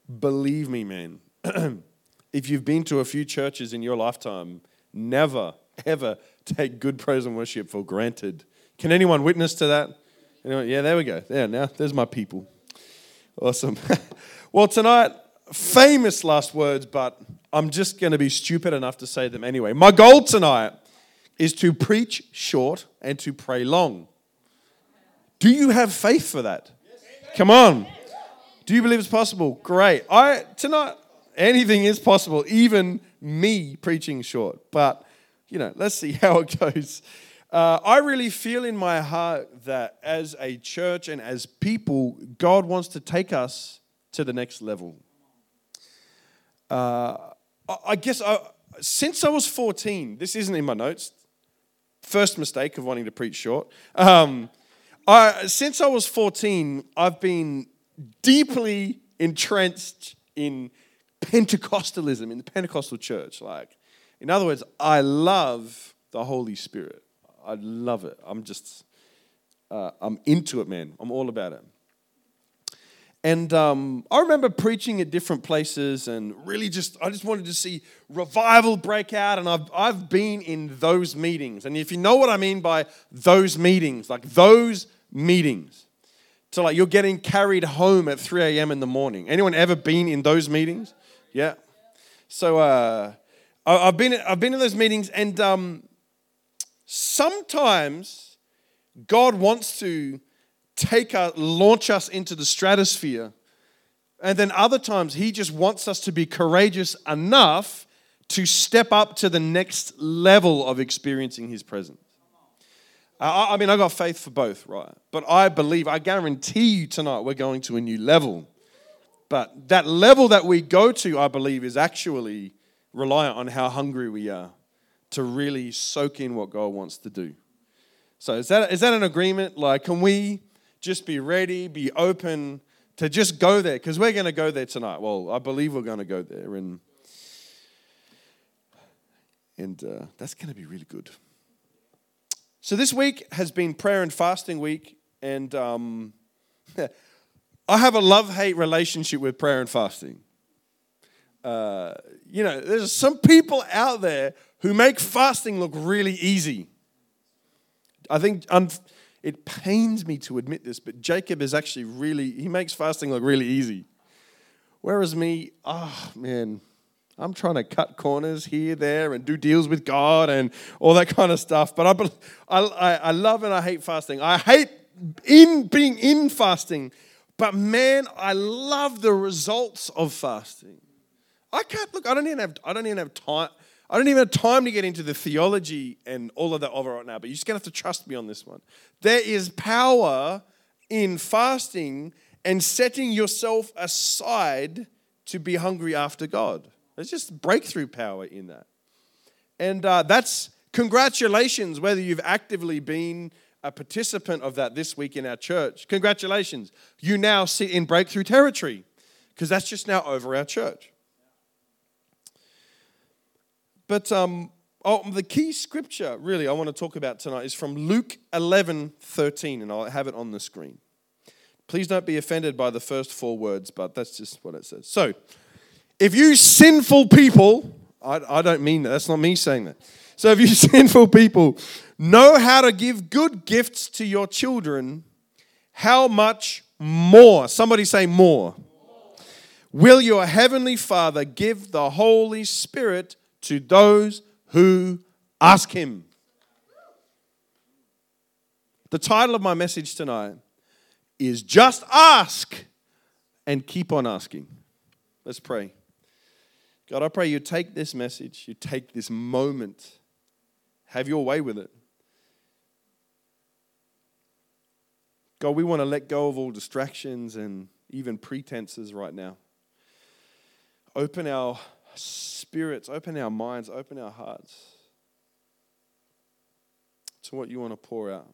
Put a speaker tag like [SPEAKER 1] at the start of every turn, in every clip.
[SPEAKER 1] believe me, man, if you've been to a few churches in your lifetime, never, ever take good praise and worship for granted. Can anyone witness to that? Anyone? Yeah, there we go. There, now, there's my people. Awesome. Well, tonight, famous last words, but I'm just going to be stupid enough to say them anyway. My goal tonight is to preach short and to pray long. Do you have faith for that? Come on. Do you believe it's possible? Great. Tonight, anything is possible, even me preaching short. But, let's see how it goes. I really feel in my heart that as a church and as people, God wants to take us to the next level. I guess since I was 14, this isn't in my notes, first mistake of wanting to preach short. Since I was 14, I've been deeply entrenched in Pentecostalism, in the Pentecostal church. In other words, I love the Holy Spirit. I love it. I'm into it, man. I'm all about it. And I remember preaching at different places and really I just wanted to see revival break out. And I've been in those meetings. And if you know what I mean by those meetings, so you're getting carried home at 3 a.m. in the morning. Anyone ever been in those meetings? Yeah. So I've been in those meetings, and sometimes God wants to launch us into the stratosphere, and then other times He just wants us to be courageous enough to step up to the next level of experiencing His presence. I got faith for both, right? But I guarantee you tonight we're going to a new level. But that level that we go to, I believe, is actually reliant on how hungry we are to really soak in what God wants to do. So is that an agreement? Can we just be ready, be open to just go there? Because we're going to go there tonight. Well, I believe we're going to go there. And that's going to be really good. So this week has been prayer and fasting week, and I have a love-hate relationship with prayer and fasting. There's some people out there who make fasting look really easy. I think it pains me to admit this, but Jacob is actually he makes fasting look really easy. Whereas me, I'm trying to cut corners here, there, and do deals with God and all that kind of stuff. But I love and I hate fasting. I hate being in fasting. But man, I love the results of fasting. I don't even have time. I don't even have time to get into the theology and all of that over right now. But you're just going to have to trust me on this one. There is power in fasting and setting yourself aside to be hungry after God. There's just breakthrough power in that. And that's congratulations, whether you've actively been a participant of that this week in our church. Congratulations. You now sit in breakthrough territory because that's just now over our church. But the key scripture, really, I want to talk about tonight is from Luke 11:13, and I'll have it on the screen. Please don't be offended by the first 4 words, but that's just what it says. So, if you sinful people, I don't mean that. That's not me saying that. So if you sinful people know how to give good gifts to your children, how much more? Somebody say more. Will your heavenly Father give the Holy Spirit to those who ask Him? The title of my message tonight is Just Ask and Keep on Asking. Let's pray. God, I pray you take this message, you take this moment, have your way with it. God, we want to let go of all distractions and even pretenses right now. Open our spirits, open our minds, open our hearts to what you want to pour out.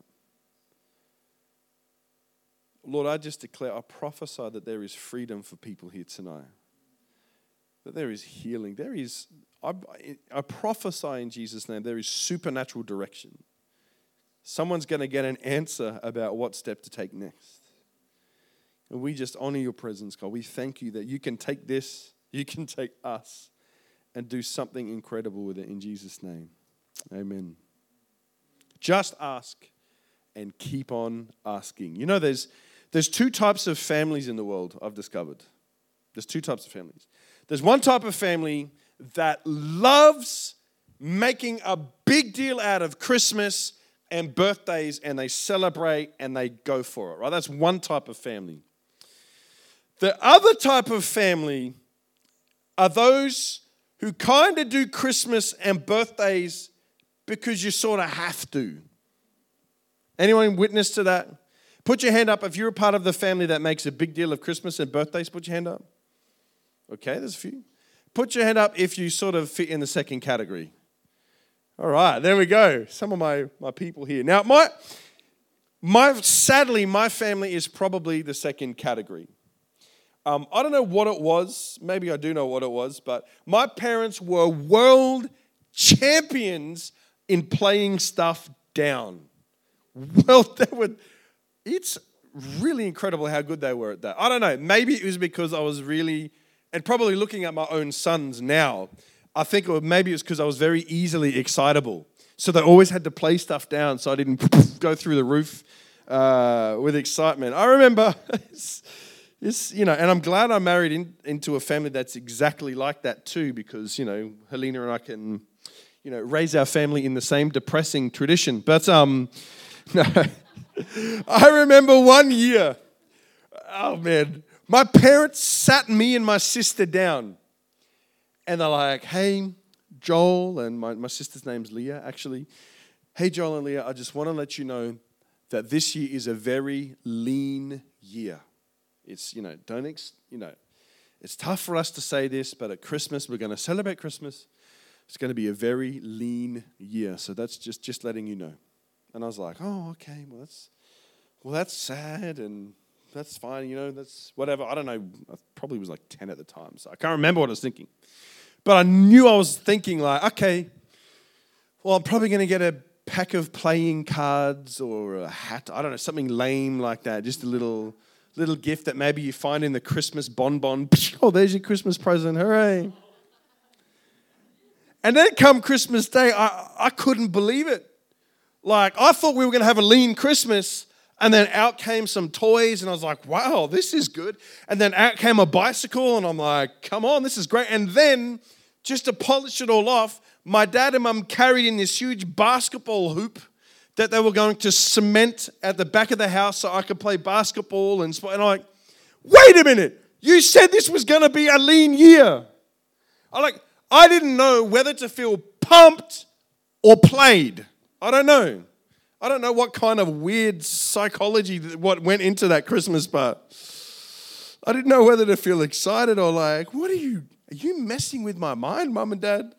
[SPEAKER 1] Lord, I just declare, I prophesy that there is freedom for people here tonight. That there is healing. I prophesy in Jesus' name, there is supernatural direction. Someone's going to get an answer about what step to take next. And we just honor your presence, God. We thank you that you can take this, you can take us, and do something incredible with it in Jesus' name. Amen. Just ask and keep on asking. You know, there's two types of families in the world, I've discovered. There's two types of families. There's one type of family that loves making a big deal out of Christmas and birthdays, and they celebrate and they go for it, right? That's one type of family. The other type of family are those who kind of do Christmas and birthdays because you sort of have to. Anyone witness to that? Put your hand up if you're a part of the family that makes a big deal of Christmas and birthdays. Put your hand up. Okay, there's a few. Put your hand up if you sort of fit in the second category. All right, there we go. Some of my people here. Now, sadly, my family is probably the second category. I don't know what it was. Maybe I do know what it was, but my parents were world champions in playing stuff down. Well, it's really incredible how good they were at that. I don't know. Maybe it was because I was really, and probably looking at my own sons now, I think maybe it was because I was very easily excitable. So they always had to play stuff down so I didn't go through the roof with excitement. I remember, and I'm glad I married into a family that's exactly like that too, because, Helena and I can, raise our family in the same depressing tradition. But, no, I remember one year, oh man, my parents sat me and my sister down. And they're like, hey, Joel, and my sister's name's Leah, actually. Hey, Joel and Leah, I just want to let you know that this year is a very lean year. It's, it's tough for us to say this, but at Christmas, we're going to celebrate Christmas. It's going to be a very lean year. So that's just letting you know. And I was like, oh, okay, that's sad, and that's fine, that's whatever. I don't know, I probably was like 10 at the time, so I can't remember what I was thinking. But I knew I was thinking like, okay, well, I'm probably going to get a pack of playing cards or a hat. I don't know, something lame like that. Just a little gift that maybe you find in the Christmas bonbon. Oh, there's your Christmas present. Hooray. And then come Christmas Day, I couldn't believe it. Like, I thought we were going to have a lean Christmas, and then out came some toys, and I was like, wow, this is good. And then out came a bicycle, and I'm like, come on, this is great. And then, just to polish it all off, my dad and mum carried in this huge basketball hoop that they were going to cement at the back of the house so I could play basketball and I'm like, wait a minute, you said this was going to be a lean year. I didn't know whether to feel pumped or played. I don't know. I don't know what kind of weird psychology what went into that Christmas part. I didn't know whether to feel excited or like, are you messing with my mind, Mum and Dad?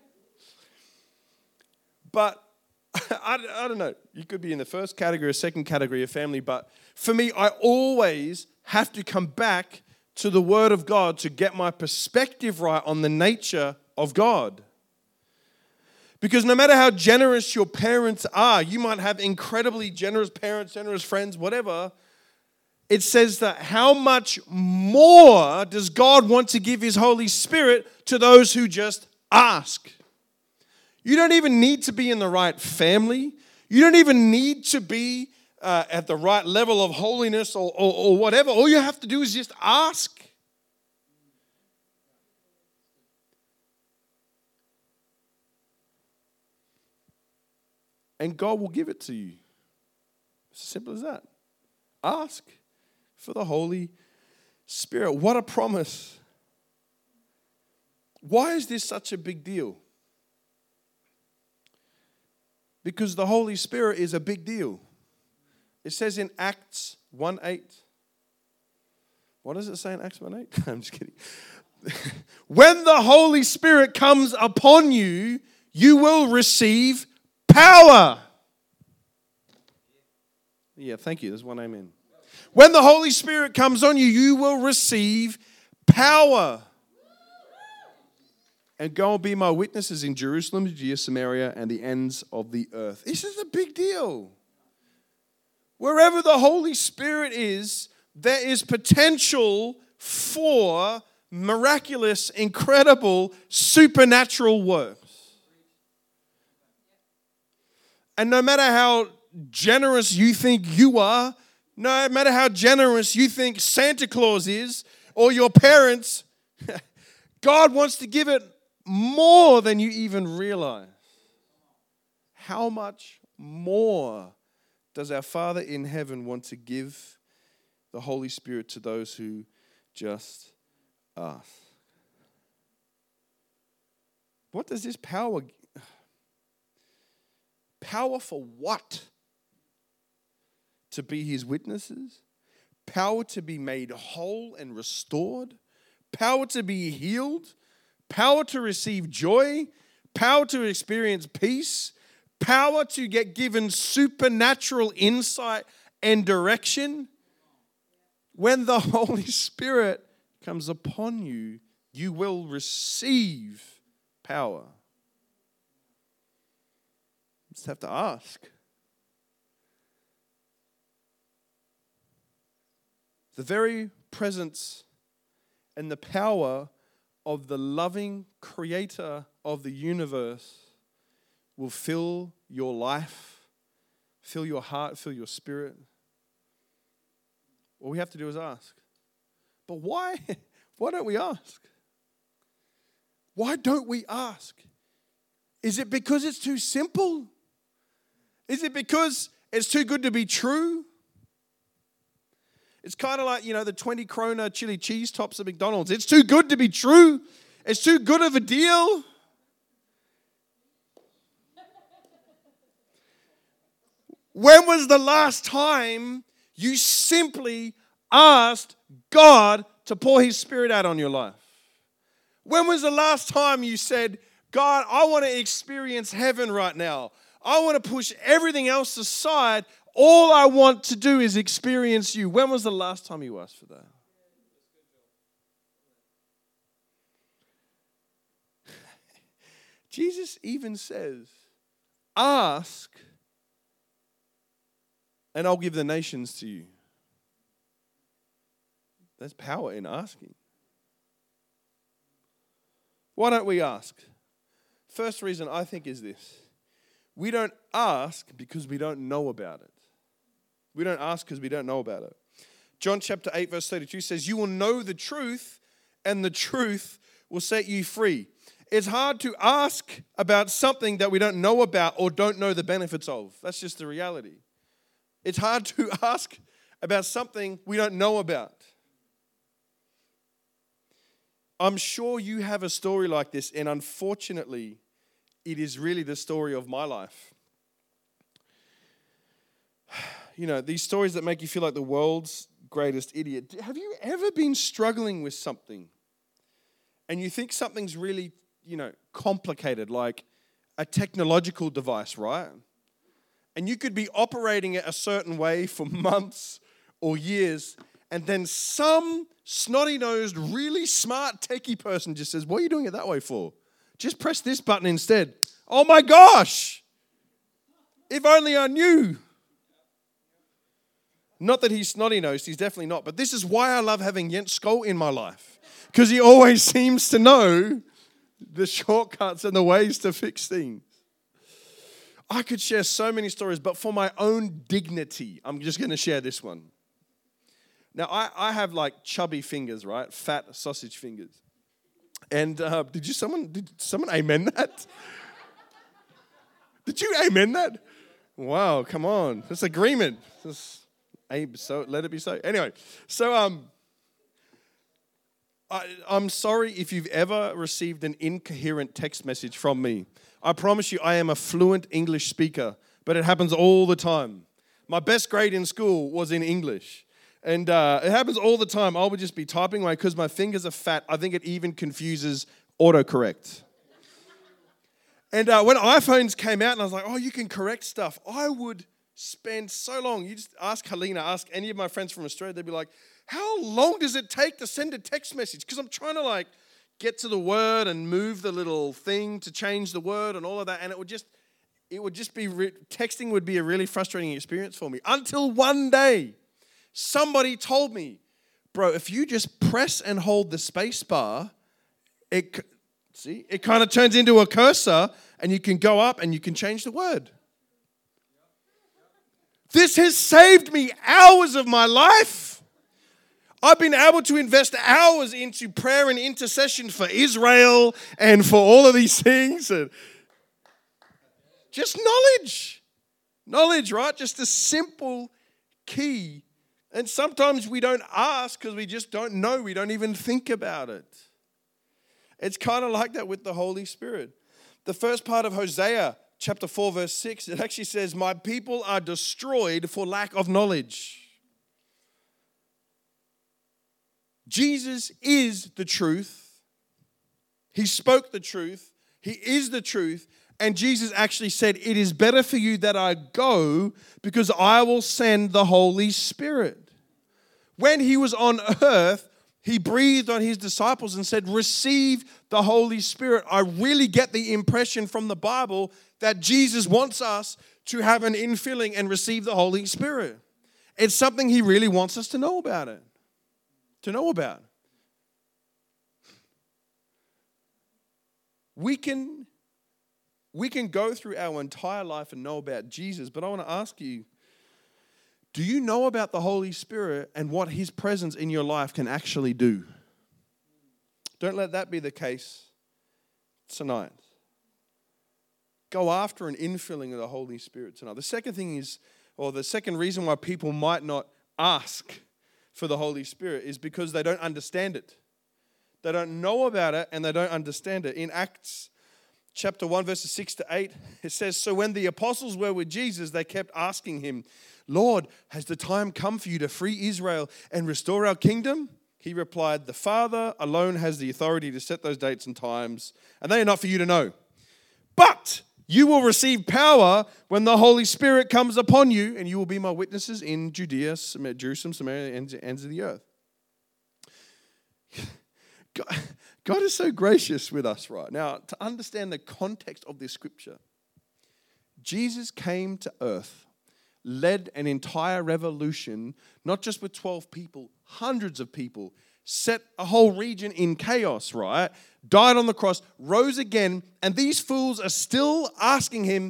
[SPEAKER 1] But I don't know. You could be in the first category or second category of family, but for me, I always have to come back to the Word of God to get my perspective right on the nature of God. Because no matter how generous your parents are, you might have incredibly generous parents, generous friends, whatever. It says that how much more does God want to give His Holy Spirit to those who just ask? You don't even need to be in the right family. You don't even need to be at the right level of holiness or whatever. All you have to do is just ask. And God will give it to you. It's as simple as that. Ask for the Holy Spirit. What a promise. Why is this such a big deal? Because the Holy Spirit is a big deal. It says in Acts 1:8. What does it say in Acts 1:8? I'm just kidding. When the Holy Spirit comes upon you, you will receive power. Yeah, thank you. There's one amen. When the Holy Spirit comes on you, you will receive power. And go and be my witnesses in Jerusalem, Judea, Samaria, and the ends of the earth. This is a big deal. Wherever the Holy Spirit is, there is potential for miraculous, incredible, supernatural works. And no matter how generous you think you are, no matter how generous you think Santa Claus is or your parents, God wants to give it more than you even realize. How much more does our Father in heaven want to give the Holy Spirit to those who just ask? What does this power? Power for what? To be His witnesses? Power to be made whole and restored? Power to be healed? Power to receive joy? Power to experience peace? Power to get given supernatural insight and direction? When the Holy Spirit comes upon you, you will receive power. You just have to ask. The very presence and the power of the loving Creator of the universe will fill your life, fill your heart, fill your spirit. All we have to do is ask. But why? Why don't we ask? Why don't we ask? Is it because it's too simple? Is it because it's too good to be true? It's kind of like, the 20 krona chili cheese tops at McDonald's. It's too good to be true. It's too good of a deal. When was the last time you simply asked God to pour His Spirit out on your life? When was the last time you said, God, I want to experience heaven right now. I want to push everything else aside. All I want to do is experience you. When was the last time you asked for that? Jesus even says, ask, and I'll give the nations to you. There's power in asking. Why don't we ask? First reason I think is this. We don't ask because we don't know about it. We don't ask because we don't know about it. John chapter 8 verse 32 says, you will know the truth and the truth will set you free. It's hard to ask about something that we don't know about or don't know the benefits of. That's just the reality. It's hard to ask about something we don't know about. I'm sure you have a story like this, and unfortunately, it is really the story of my life. These stories that make you feel like the world's greatest idiot. Have you ever been struggling with something and you think something's really, complicated, like a technological device, right? And you could be operating it a certain way for months or years, and then some snotty-nosed, really smart techie person just says, what are you doing it that way for? Just press this button instead. Oh my gosh! If only I knew. Not that he's snotty-nosed, he's definitely not. But this is why I love having Jens Skoll in my life. Because he always seems to know the shortcuts and the ways to fix things. I could share so many stories, but for my own dignity, I'm just going to share this one. Now, I have like chubby fingers, right? Fat sausage fingers. And did someone amen that? Did you amen that? Wow, come on. That's agreement. So let it be so. Anyway, so I'm sorry if you've ever received an incoherent text message from me. I promise you I am a fluent English speaker, but it happens all the time. My best grade in school was in English. And it happens all the time. I would just be typing away because my fingers are fat. I think it even confuses autocorrect. And when iPhones came out and I was like, oh, you can correct stuff, I would spend so long. You just ask Helena, ask any of my friends from Australia, they'd be like, how long does it take to send a text message? Because I'm trying to get to the word and move the little thing to change the word and all of that. And it would just be, texting would be a really frustrating experience for me. Until one day, Somebody told me, bro, if you just press and hold the space bar, it kind of turns into a cursor and you can go up and you can change the word. This has saved me hours of my life. I've been able to invest hours into prayer and intercession for Israel and for all of these things. And just knowledge. Knowledge, right? Just a simple key. And sometimes we don't ask because we just don't know. We don't even think about it. It's kind of like that with the Holy Spirit. The first part of Hosea chapter 4 verse 6, it actually says, my people are destroyed for lack of knowledge. Jesus is the truth. He spoke the truth. He is the truth. And Jesus actually said, it is better for you that I go because I will send the Holy Spirit. When he was on earth, he breathed on his disciples and said, receive the Holy Spirit. I really get the impression from the Bible that Jesus wants us to have an infilling and receive the Holy Spirit. It's something he really wants us to know about it. To know about. We can go through our entire life and know about Jesus, but I want to ask you, do you know about the Holy Spirit and what his presence in your life can actually do? Don't let that be the case tonight. Go after an infilling of the Holy Spirit tonight. The second thing is, or the second reason why people might not ask for the Holy Spirit is because they don't understand it. They don't know about it and they don't understand it. In Acts chapter 1 verses 6 to 8, it says, so when the apostles were with Jesus, they kept asking him, Lord, has the time come for you to free Israel and restore our kingdom? He replied, the Father alone has the authority to set those dates and times, and they are not for you to know. But you will receive power when the Holy Spirit comes upon you, and you will be my witnesses in Judea, Jerusalem, Samaria, and the ends of the earth. God is so gracious with us right now. To understand the context of this scripture, Jesus came to earth, led an entire revolution, not just with 12 people, hundreds of people, set a whole region in chaos, right? Died on the cross, rose again, and these fools are still asking him,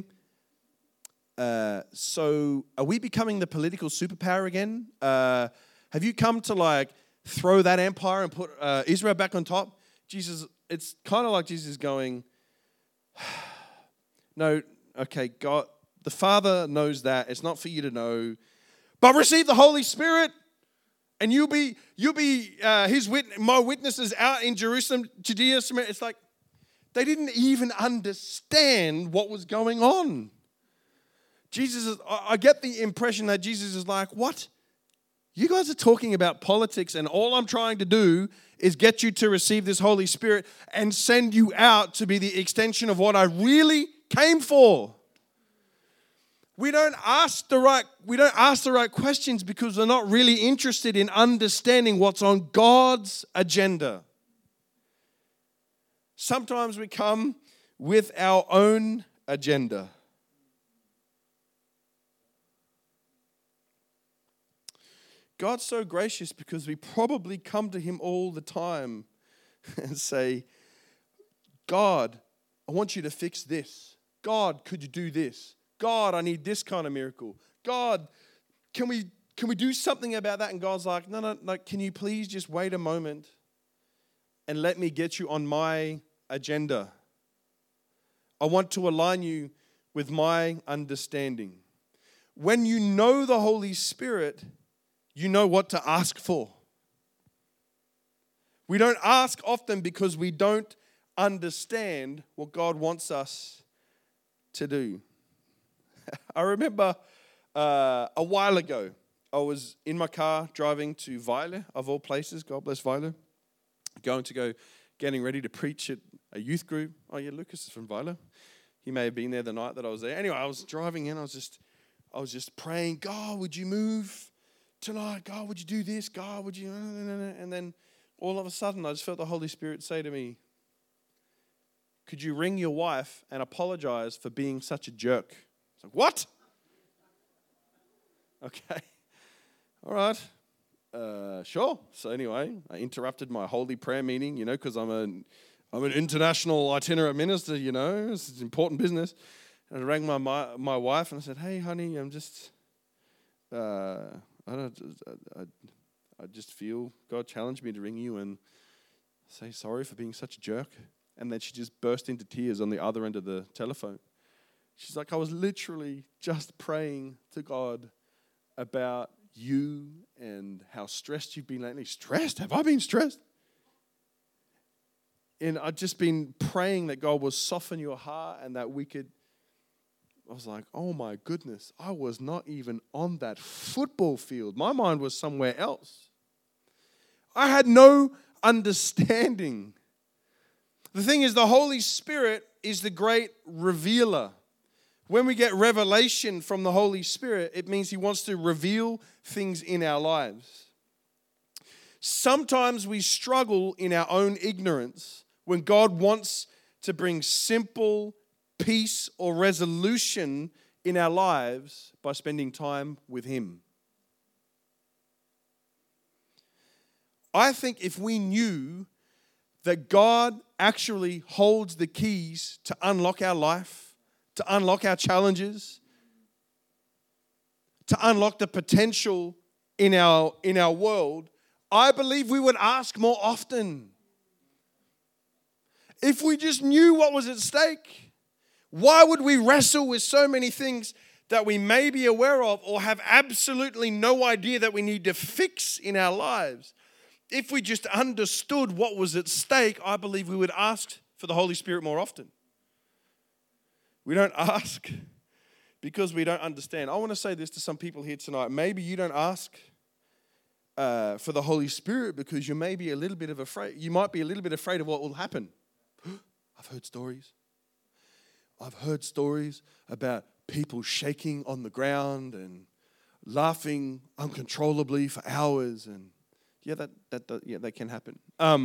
[SPEAKER 1] so are we becoming the political superpower again? Have you come to throw that empire and put Israel back on top? Jesus, it's kind of like Jesus going, no, okay, God, the Father knows that. It's not for you to know. But receive the Holy Spirit, and you'll be my witnesses out in Jerusalem, Judea, Samaria. It's like they didn't even understand what was going on. I get the impression that Jesus is like, what? You guys are talking about politics, and all I'm trying to do is get you to receive this Holy Spirit and send you out to be the extension of what I really came for. We don't ask the right questions because we're not really interested in understanding what's on God's agenda. Sometimes we come with our own agenda. God's so gracious because we probably come to him all the time and say, God, I want you to fix this. God, could you do this? God, I need this kind of miracle. God, can we do something about that? And God's like, no, can you please just wait a moment and let me get you on my agenda? I want to align you with my understanding. When you know the Holy Spirit, you know what to ask for. We don't ask often because we don't understand what God wants us to do. I remember a while ago, I was in my car driving to Weiler, of all places, God bless Weiler, getting ready to preach at a youth group. Oh yeah, Lucas is from Weiler. He may have been there the night that I was there. Anyway, I was driving in, I was just praying, God, would you move tonight? God, would you do this? God, would you? And then all of a sudden, I just felt the Holy Spirit say to me, could you ring your wife and apologize for being such a jerk? It's like, what? Okay. All right. Sure. So anyway, I interrupted my holy prayer meeting, because I'm an international itinerant minister, it's important business. And I rang my wife and I said, "Hey, honey, I'm just, I just feel God challenged me to ring you and say sorry for being such a jerk." And then she just burst into tears on the other end of the telephone. She's like, "I was literally just praying to God about you and how stressed you've been lately." Stressed? Have I been stressed? And I've just been praying that God will soften your heart and that I was like, oh my goodness, I was not even on that football field. My mind was somewhere else. I had no understanding. The thing is, the Holy Spirit is the great revealer. When we get revelation from the Holy Spirit, it means He wants to reveal things in our lives. Sometimes we struggle in our own ignorance when God wants to bring simple peace or resolution in our lives by spending time with Him. I think if we knew that God actually holds the keys to unlock our life, to unlock our challenges, to unlock the potential in our world, I believe we would ask more often. If we just knew what was at stake, why would we wrestle with so many things that we may be aware of or have absolutely no idea that we need to fix in our lives? If we just understood what was at stake, I believe we would ask for the Holy Spirit more often. We don't ask because we don't understand. I want to say this to some people here tonight. Maybe you don't ask for the Holy Spirit because you may be a little bit afraid. You might be a little bit afraid of what will happen. I've heard stories. I've heard stories about people shaking on the ground and laughing uncontrollably for hours, and that can happen.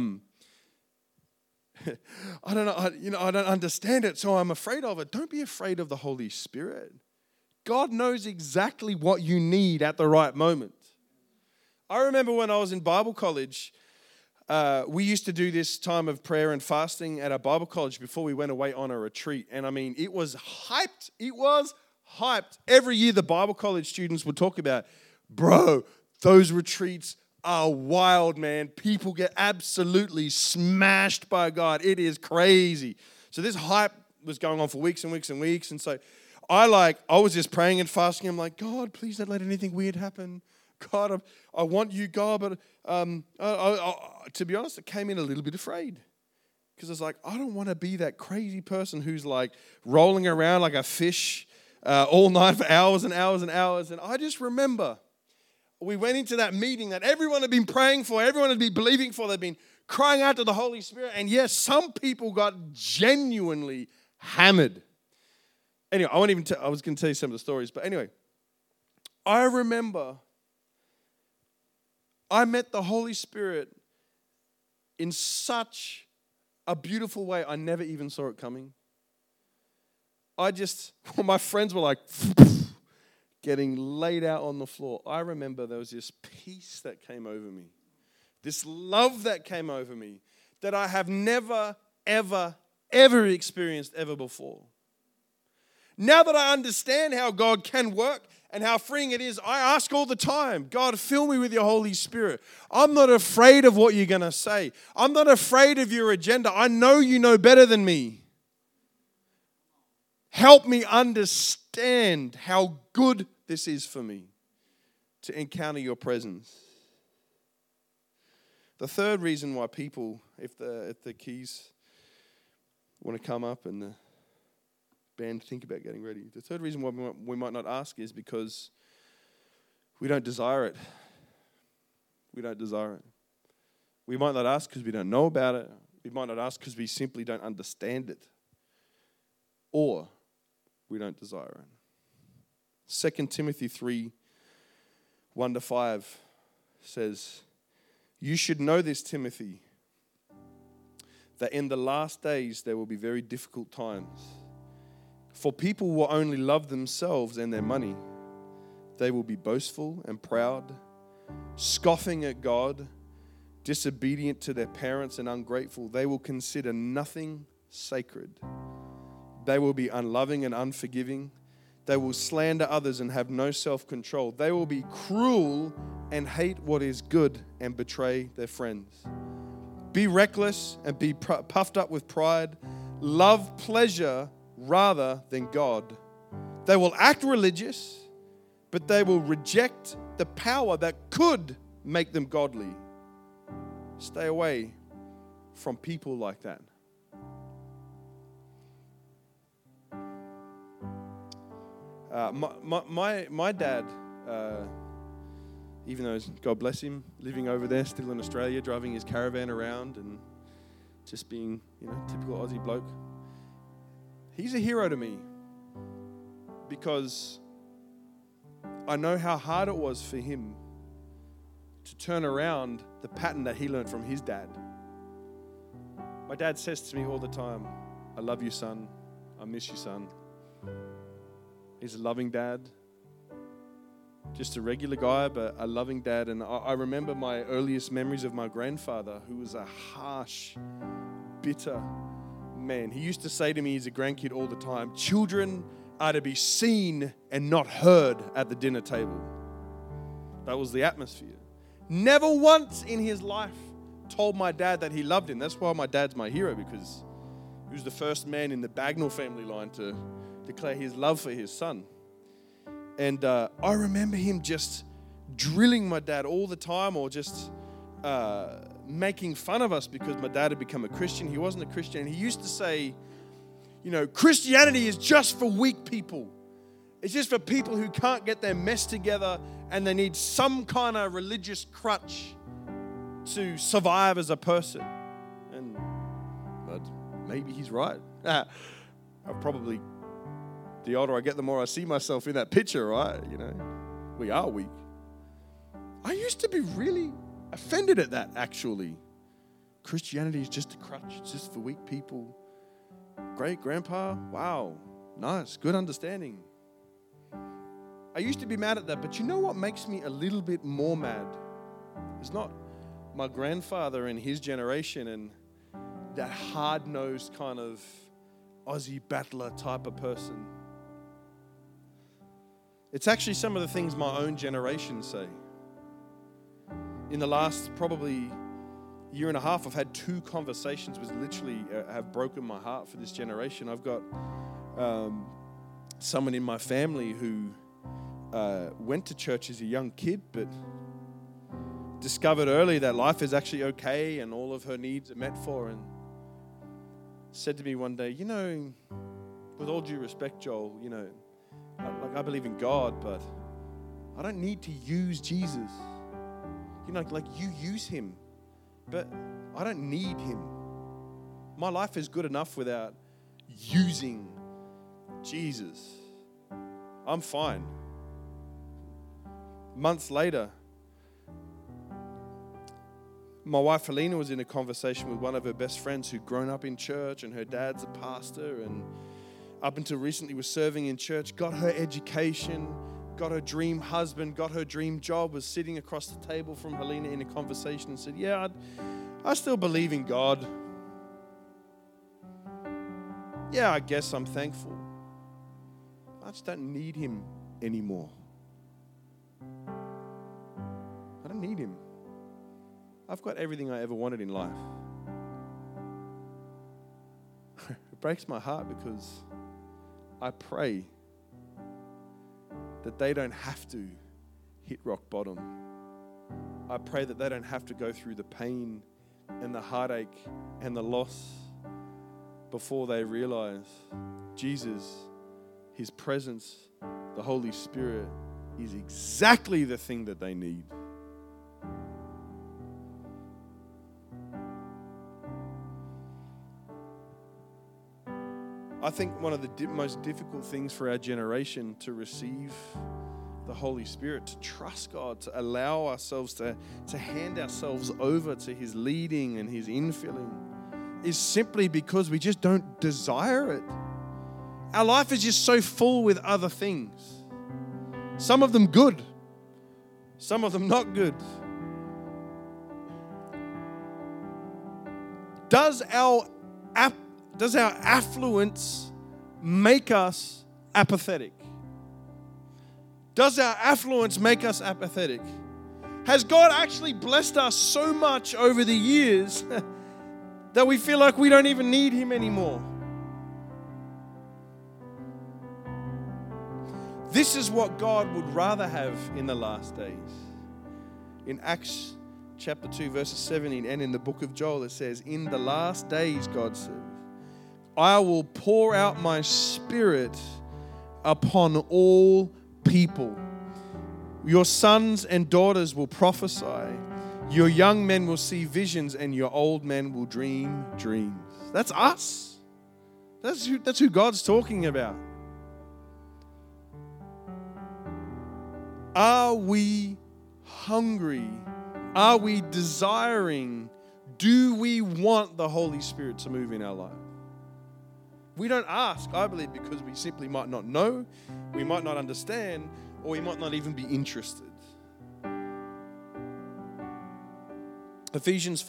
[SPEAKER 1] I don't know. I don't understand it, so I'm afraid of it. Don't be afraid of the Holy Spirit. God knows exactly what you need at the right moment. I remember when I was in Bible college, we used to do this time of prayer and fasting at our Bible college before we went away on a retreat. And I mean, it was hyped. It was hyped. Every year the Bible college students would talk about, bro, those retreats are wild, man. People get absolutely smashed by God. It is crazy. So this hype was going on for weeks and weeks and weeks. And so I was just praying and fasting. I'm like, God, please don't let anything weird happen. God, I want you, God. But to be honest, I came in a little bit afraid. Because I was like, I don't want to be that crazy person who's like rolling around like a fish all night for hours and hours and hours. And I just remember we went into that meeting that everyone had been praying for, everyone had been believing for, they'd been crying out to the Holy Spirit. And yes, some people got genuinely hammered. Anyway, I was going to tell you some of the stories. But anyway, I remember I met the Holy Spirit in such a beautiful way. I never even saw it coming. My friends were like getting laid out on the floor. I remember there was this peace that came over me, this love that came over me that I have never, ever, ever experienced ever before. Now that I understand how God can work and how freeing it is, I ask all the time, God, fill me with your Holy Spirit. I'm not afraid of what you're going to say. I'm not afraid of your agenda. I know you know better than me. Help me understand how good this is for me to encounter your presence. The third reason why people, if the keys want to come up and the band think about getting ready, the third reason why we might not ask is because we don't desire it. We don't desire it. We might not ask because we don't know about it. We might not ask because we simply don't understand it. Or we don't desire it. 2 Timothy 3, 1-5 says, you should know this, Timothy, that in the last days there will be very difficult times. For people will only love themselves and their money. They will be boastful and proud, scoffing at God, disobedient to their parents and ungrateful. They will consider nothing sacred. They will be unloving and unforgiving. They will slander others and have no self-control. They will be cruel and hate what is good and betray their friends. Be reckless and be puffed up with pride. Love pleasure rather than God. They will act religious, but they will reject the power that could make them godly. Stay away from people like that. My dad, even though, God bless him, living over there, still in Australia, driving his caravan around and just being, typical Aussie bloke, he's a hero to me because I know how hard it was for him to turn around the pattern that he learned from his dad. My dad says to me all the time, I love you, son. I miss you, son. He's a loving dad. Just a regular guy, but a loving dad. And I remember my earliest memories of my grandfather, who was a harsh, bitter man. He used to say to me as a grandkid all the time, children are to be seen and not heard at the dinner table. That was the atmosphere. Never once in his life told my dad that he loved him. That's why my dad's my hero, because he was the first man in the Bagnall family line to declare his love for his son. And I remember him just drilling my dad all the time, or just making fun of us because my dad had become a Christian. He wasn't a Christian. And he used to say, Christianity is just for weak people. It's just for people who can't get their mess together and they need some kind of religious crutch to survive as a person. But maybe he's right. The older I get, the more I see myself in that picture, right? We are weak. I used to be really offended at that, actually. Christianity is just a crutch. It's just for weak people. Great grandpa, wow, nice, good understanding. I used to be mad at that, but you know what makes me a little bit more mad? It's not my grandfather and his generation and that hard-nosed kind of Aussie battler type of person. It's actually some of the things my own generation say. In the last probably year and a half, I've had 2 conversations which literally have broken my heart for this generation. I've got someone in my family who went to church as a young kid, but discovered early that life is actually okay and all of her needs are met for, and said to me one day, with all due respect, Joel, I believe in God, but I don't need to use Jesus. You use him, but I don't need him. My life is good enough without using Jesus. I'm fine. Months later, my wife Helena was in a conversation with one of her best friends who'd grown up in church, and her dad's a pastor, and up until recently was serving in church, got her education, got her dream husband, got her dream job, was sitting across the table from Helena in a conversation and said, I still believe in God. I guess I'm thankful. I just don't need him anymore. I don't need him. I've got everything I ever wanted in life. It breaks my heart because I pray that they don't have to hit rock bottom. I pray that they don't have to go through the pain and the heartache and the loss before they realize Jesus, his presence, the Holy Spirit is exactly the thing that they need. I think one of the most difficult things for our generation to receive the Holy Spirit, to trust God, to allow ourselves to hand ourselves over to his leading and his infilling, is simply because we just don't desire it. Our life is just so full with other things. Some of them good, Some of them not good. Does our affluence make us apathetic? Does our affluence make us apathetic? Has God actually blessed us so much over the years that we feel like we don't even need Him anymore? This is what God would rather have in the last days. In Acts chapter 2, verses 17, and in the book of Joel, it says, in the last days, God says, I will pour out my Spirit upon all people. Your sons and daughters will prophesy. Your young men will see visions, and your old men will dream dreams. That's us. That's who God's talking about. Are we hungry? Are we desiring? Do we want the Holy Spirit to move in our life? We don't ask, I believe, because we simply might not know, we might not understand, or we might not even be interested. Ephesians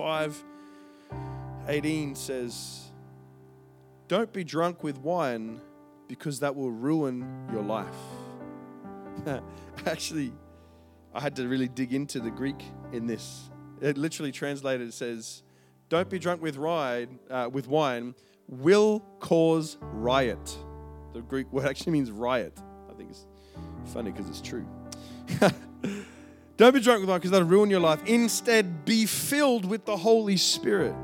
[SPEAKER 1] 5:18 says, don't be drunk with wine because that will ruin your life. Actually, I had to really dig into the Greek in this. It literally translated, it says, don't be drunk with wine will cause riot. The Greek word actually means riot. I think it's funny because it's true. Don't be drunk with wine because that'll ruin your life. Instead, be filled with the Holy Spirit.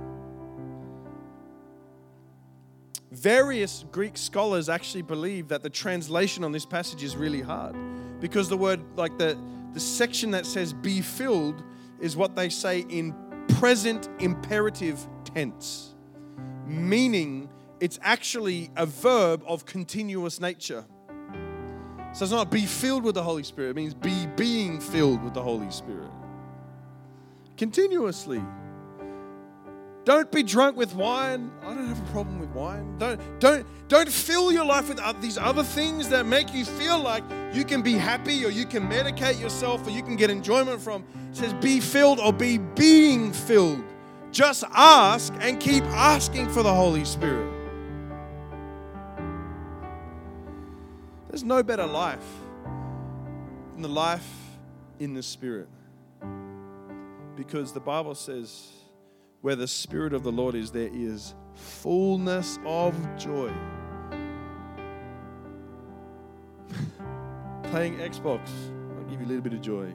[SPEAKER 1] Various Greek scholars actually believe that the translation on this passage is really hard because the word, like the section that says be filled is what they say in present imperative tense, meaning it's actually a verb of continuous nature. So it's not be filled with the Holy Spirit, it means be being filled with the Holy Spirit. Continuously. Don't be drunk with wine. I don't have a problem with wine. Don't fill your life with these other things that make you feel like you can be happy or you can medicate yourself or you can get enjoyment from. It says be filled or be being filled. Just ask and keep asking for the Holy Spirit. There's no better life than the life in the Spirit. Because the Bible says, where the Spirit of the Lord is, there is fullness of joy. Playing Xbox, I'll give you a little bit of joy.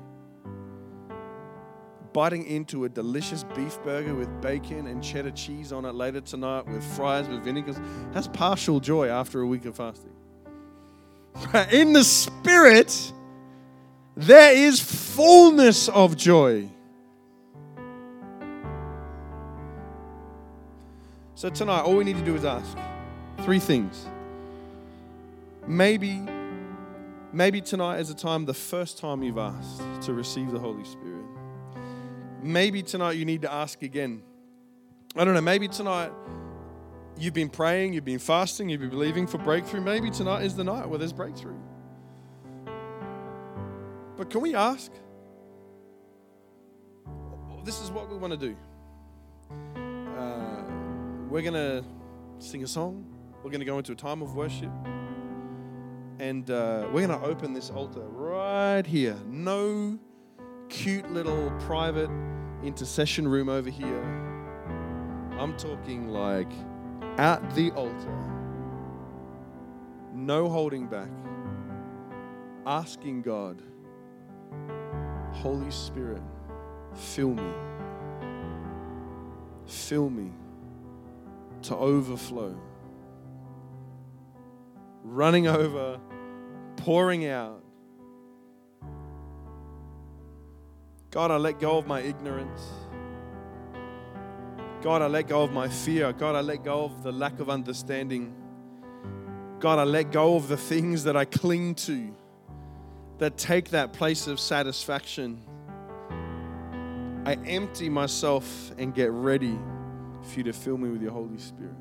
[SPEAKER 1] Biting into a delicious beef burger with bacon and cheddar cheese on it later tonight with fries with vinegar, that's partial joy after a week of fasting. In the Spirit, there is fullness of joy. So tonight, all we need to do is ask 3 things. Maybe tonight is the first time you've asked to receive the Holy Spirit. Maybe tonight you need to ask again. I don't know, maybe tonight you've been praying, you've been fasting, you've been believing for breakthrough. Maybe tonight is the night where there's breakthrough. But can we ask? This is what we want to do. We're going to sing a song. We're going to go into a time of worship. And we're going to open this altar right here. No cute little private intercession room over here. I'm talking like at the altar. No holding back. Asking God, Holy Spirit, fill me. Fill me to overflow. Running over, pouring out. God, I let go of my ignorance. God, I let go of my fear. God, I let go of the lack of understanding. God, I let go of the things that I cling to that take that place of satisfaction. I empty myself and get ready for you to fill me with your Holy Spirit.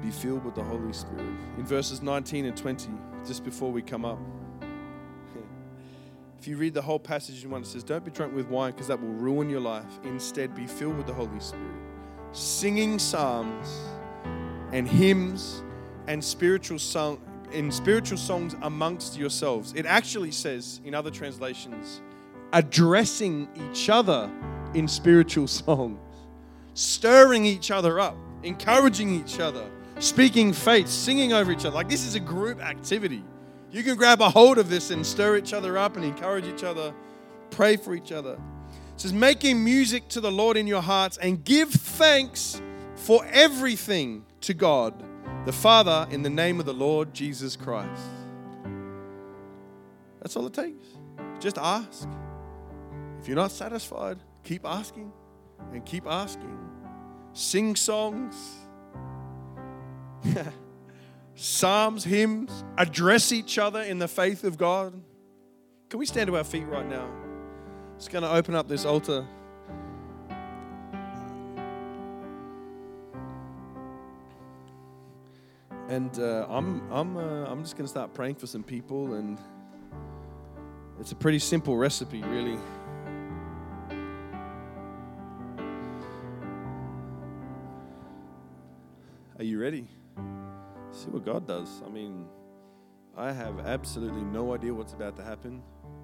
[SPEAKER 1] be filled with the Holy Spirit. In verses 19 and 20, just before we come up, if you read the whole passage in one, it says, don't be drunk with wine because that will ruin your life. Instead, be filled with the Holy Spirit, singing psalms and hymns and spiritual songs amongst yourselves. It actually says in other translations, addressing each other in spiritual songs, stirring each other up, encouraging each other, speaking faith, singing over each other. Like, this is a group activity. You can grab a hold of this and stir each other up and encourage each other, pray for each other. It says, making music to the Lord in your hearts and give thanks for everything to God, the Father, in the name of the Lord Jesus Christ. That's all it takes. Just ask. If you're not satisfied, keep asking and keep asking. Sing songs. Psalms, hymns, address each other in the faith of God. Can we stand to our feet right now? Just going to open up this altar. And I'm just going to start praying for some people, and it's a pretty simple recipe, really. Are you ready? See what God does. I mean, I have absolutely no idea what's about to happen.